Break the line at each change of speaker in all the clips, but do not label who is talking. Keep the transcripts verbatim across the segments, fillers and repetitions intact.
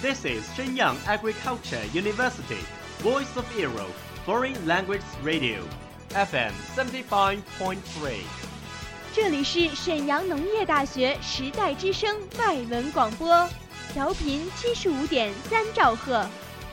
This is Shenyang Agriculture University, Voice of Europe, Foreign Language Radio, F M seventy-five point three。
这里是沈阳农业大学时代之声外文广播，调频七十五点三兆赫。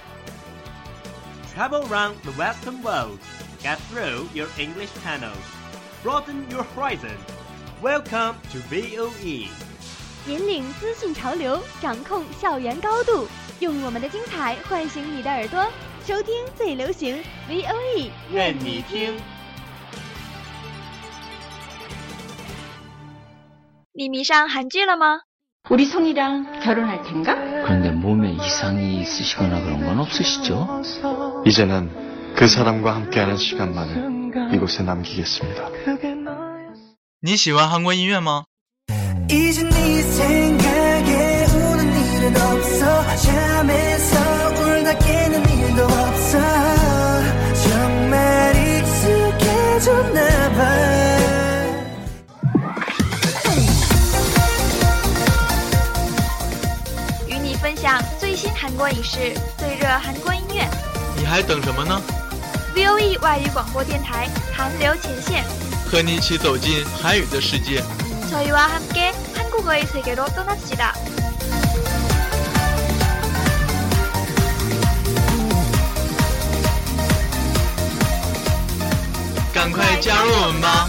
Travel around the Western world, get through your English channels, broaden your horizon. Welcome to V O E。
引领资讯潮流，掌控校园高度，用我们的精彩唤醒你的耳朵，收听最流行 V O E， 愿你听。你迷上韩剧了吗？
우리 성이랑 결혼할 텐가?
그런데 몸에 이상이 있으시거나 그런 건 없으시죠?
이제는 그 사람과 함께하는 시간만을 이곳에 남기겠습니다.
你喜欢韩国音乐吗？
이제 네 생각에 우는 일은 없어 잠에서 울다 깨는 일도 없어 정말 익숙해졌나 봐
与你分享最新韩国影视，最热韩国音乐。
你还等什么呢？
V O E 外语广播电台韩流前线，
和你一起走进韩语的世界。
저희와 함께 한국어의 세계로 떠납시다.
赶快加入我们吧！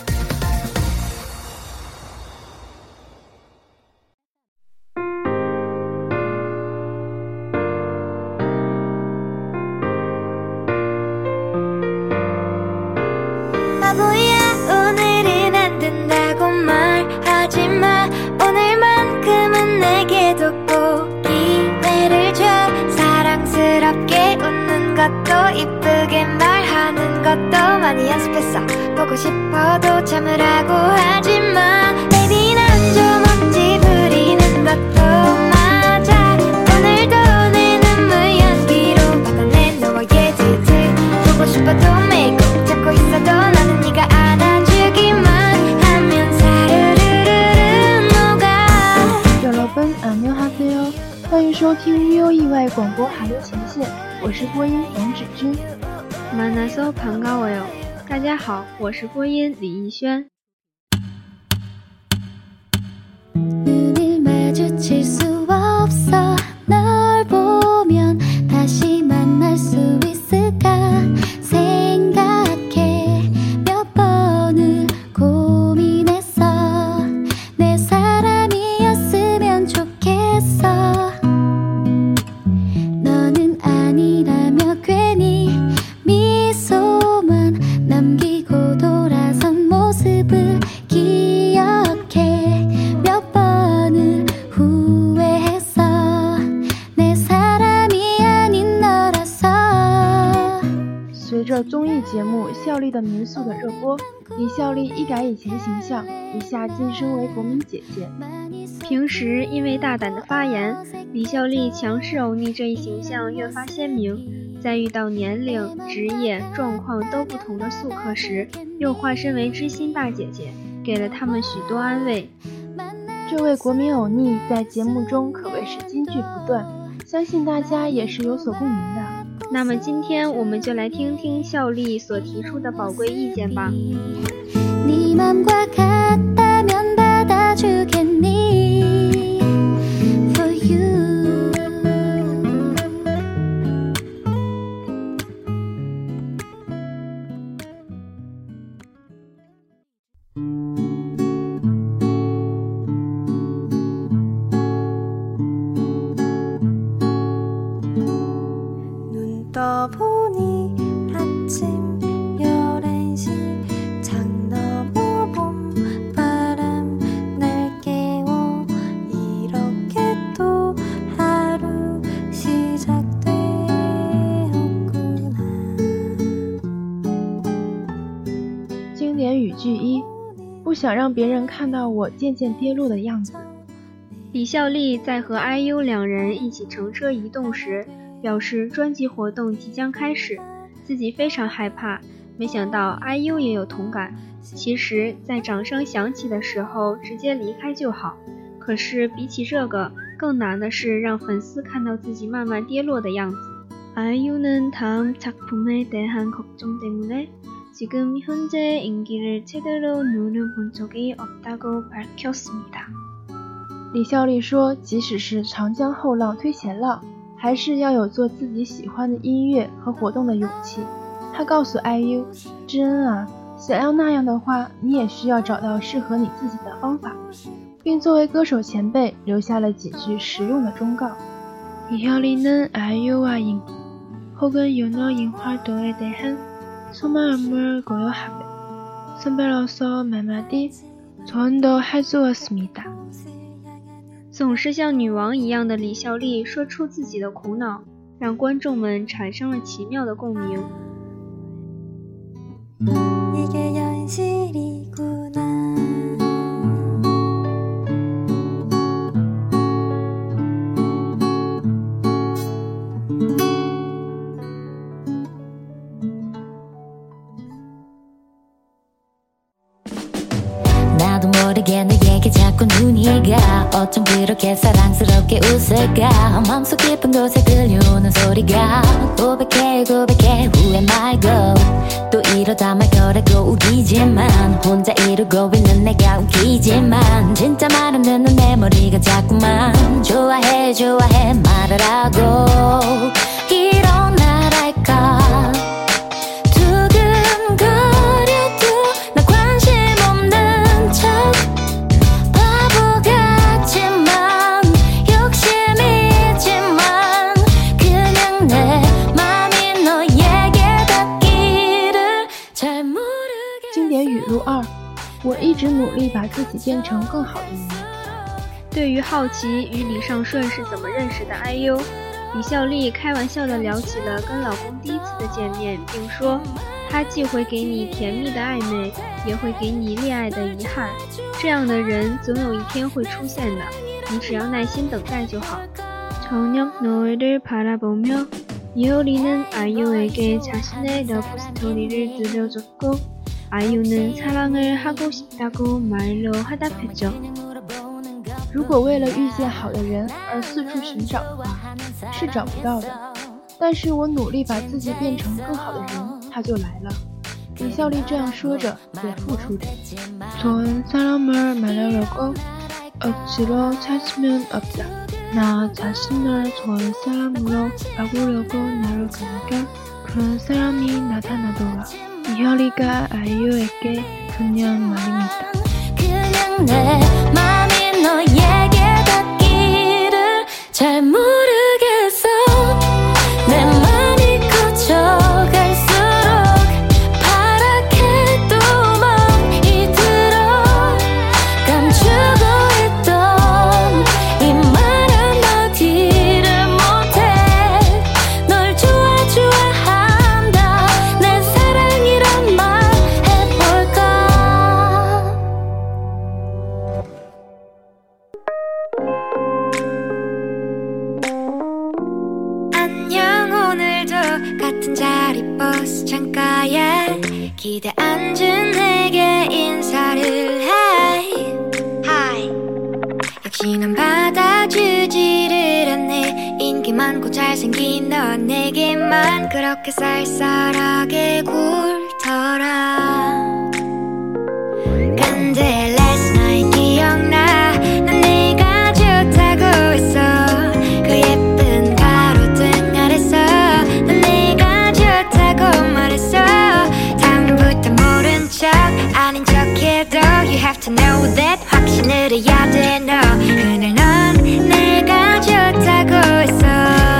것도 이쁘게 말하는 것도 많이 연습했어 보고 싶어도 참으라고 하지마 Baby 난 좀 억지 부리는 것도 맞아 오늘도 내 눈물 연기로 받아낸 너와 예지들 보고 싶어도 매일 꼭 잡고 있어도 나는 네가 안아주기만 하면 사르르르르 녹아
여러분 안녕하세요 欢迎收听 V O E 外广播韩流前线我是播音王芷君
만나서 반가워요. 大家好，我是播音李逸轩。
눈을 마주칠 수 없어 널 보면 다시 만날 수 있을까 생각해 몇 번을 고민했어 내 사람이었으면 좋겠어 너는 아니라며 괜히 미소만 남기고 돌아선 모습을 기억해 몇 번을 후회했어 내 사람이 아닌 너라서
随着综艺节目孝利的民宿的热播李孝利一改以前形象一下晋升为国民姐姐
平时因为大胆的发言李孝利强势欧尼这一形象越发鲜明在遇到年龄职业状况都不同的宿客时又化身为知心大姐姐给了他们许多安慰
这位国民欧尼在节目中可谓是金句不断相信大家也是有所共鸣的
那么今天我们就来听听孝利所提出的宝贵意见吧
네 맘과 같다면 받아주겠니 For you 눈 떠보니 아침 열한 시 창 너머 봄바람 날 깨워 이렇게 또 하루 시작되었구나
经典语句一不想让别人看到我渐渐跌落的样子
李孝利在和 I U 两人一起乘车移动时表示专辑活动即将开始自己非常害怕没想到 I U 也有同感其实在掌声响起的时候直接离开就好可是比起这个更难的是让粉丝看到自己慢慢跌落的样子。아이유는 다음 작품에 대한 걱정 때문에 지금 현재 인기를 제대로 눈을 본 적이 없다고 밝혔습니다.
李孝利说，即使是长江后浪推前浪，还是要有做自己喜欢的音乐和活动的勇气。他告诉 I U， 知恩啊，想要那样的话，你也需要找到适合你自己的方法，并作为歌手前辈留下了几句实用的忠告。 이효리는 아이유와 인기 혹은 연예인 활동에 대한 속마음을 고려하며 선배로서 몇 마디 조언도 해주었습니다.
总是像女王一样的李孝利说出自己的苦恼，让观众们产生了奇妙的共鸣。
이게 현실이구나.
나도 모르게 너에게 자꾸 눈이 가 어쩜 그렇게 사랑스럽게 웃을까 마음속 깊은 곳에 들려오는 소리가 고백해 고백해 Who am I go 또 이러다 말 거라고 우기지만 혼자 이러고 있는 내가 웃기지만 진짜 말 안 듣는 내 머리가 자꾸만 좋아해 좋아해 말을 하고 이런 나랄까
二，我一直努力把自己变成更好的人。
对于好奇与李尚顺是怎么认识的 I U， 李孝利开玩笑地聊起了跟老公第一次的见面，并说他既会给你甜蜜的暧昧，也会给你恋爱的遗憾，这样的人总有一天会出现的，你只要耐心等待就好。 저녁 노을을 바라보며 이효리는 아이유에게 자신의 러브 스토리를 들려줬고 아이유는 사랑을 하고 싶다고 말로 화답했죠.
如果为了遇见好的人而四处寻找的话，是找不到的。但是我努力把自己变成更好的人，他就来了。李孝利这样说着，也付出着。 좋은 사람을 만나려고 억지로 찾으면 없다. 나 자신을 좋은 사람으로 바꾸려고 노력하니까 그런 사람이 나타나더라. 이효리가 아이유에게 그냥 말입니다.
그냥 내 맘이 너에게 닿기를 잘 모르겠어. 내 맘이 커져갈수록 파랗게 뚜껑이 들어 감추고 있던 이 말 한마디를 못해. 널 좋아 좋아한다 내 사랑이란 말 해볼까. 안녕 오늘도 같은 자리 버스 창가에 기대 앉은 내게 인사를 해. Hi. 역시 넌 받아주지를 않네. 인기 많고 잘생긴 너 내게만 그렇게 쌀쌀하게 굴더라. 근데 last night 기억나. 난 네가 좋다고 했어. 그 예쁜 가로등 아래서 난 네가 좋다고 말했어. 다음부터 모른 척 아닌 척해도 You have to know that 확신을 해야 돼 너. 그날 넌 내가 좋다고 했어.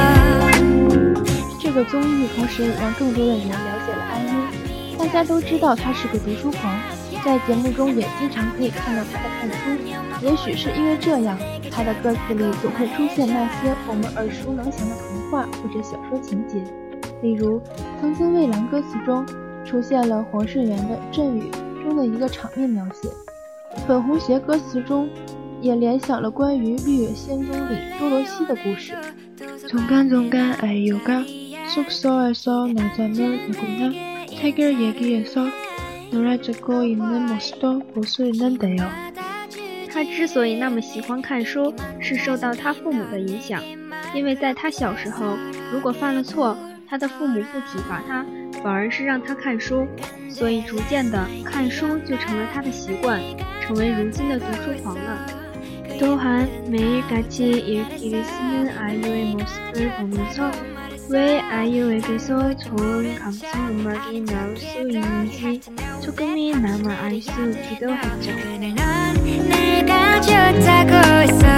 这个综艺同时让更多的人了解了 I U。 大家都知道他是个读书狂，在节目中也经常可以看到他的看书。也许是因为这样，他的歌词里总会出现那些我们耳熟能详的童话或者小说情节。例如，曾经蔚蓝歌词中出现了黄世元的《阵雨》中的一个场面描写，粉红鞋歌词中也联想了关于《绿野仙踪》里多罗西的故事。중간중간 아이유가 숙소에서 낮잠을 자거나 책을 얘기해서 놀아주고 있는 모습도 볼 수 있는데요.
他之所以那么喜欢看书，是受到他父母的影响。因为在他小时候，如果犯了错，他的父母不体罚他，反而是让他看书，所以逐渐的看书就成了他的习惯，成为如今的读书狂了。 또한 매일같이 읽기를 쓰는 아이유의 모습을 보면서 왜 아이유에게서 좋은 감성 음악이 나올 수 있는지 조금이나마 알 수 있기도 했죠. 내가 좋다고 했어.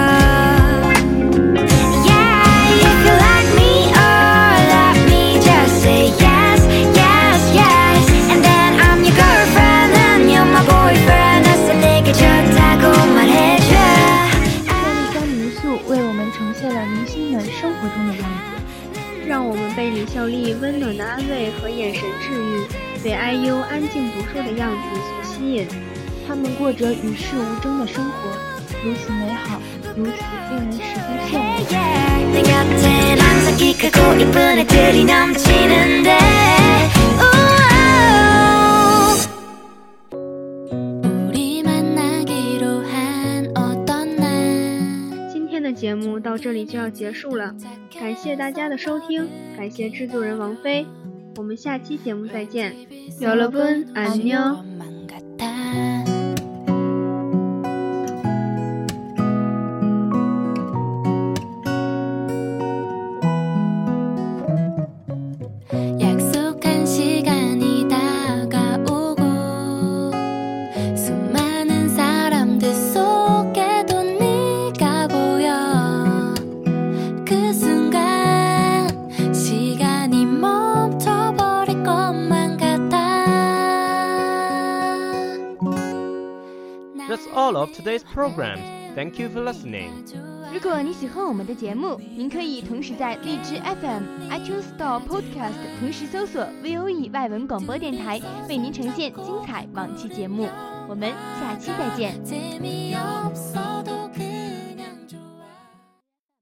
Yeah, if you like me or love me, just say yes, yes, yes. And then I'm your girlfriend and you're my boyfriend. 그래서 내게 좋다고 말해줘.
为我们呈现了明星们生活中的样子，
让我们被李孝利温暖的安慰和眼神治愈，被 I U 安静读书的样子所吸引。
他们过着与世无争的生活，如此美好，如此令人十分羡慕。 내 곁엔 항상 키 크고 이쁜 애들이 넘치는데
节目到这里就要结束了，感谢大家的收听，感谢制作人王菲，我们下期节目再见。여러분 안녕。
That's all of today's program. Thank you for listening.
如果你喜欢我们的节目，您可以同时在荔枝 F M、iTunes Store Podcast 同时搜索 V O E 外文广播电台，为您呈现精彩往期节目。我们下期再见。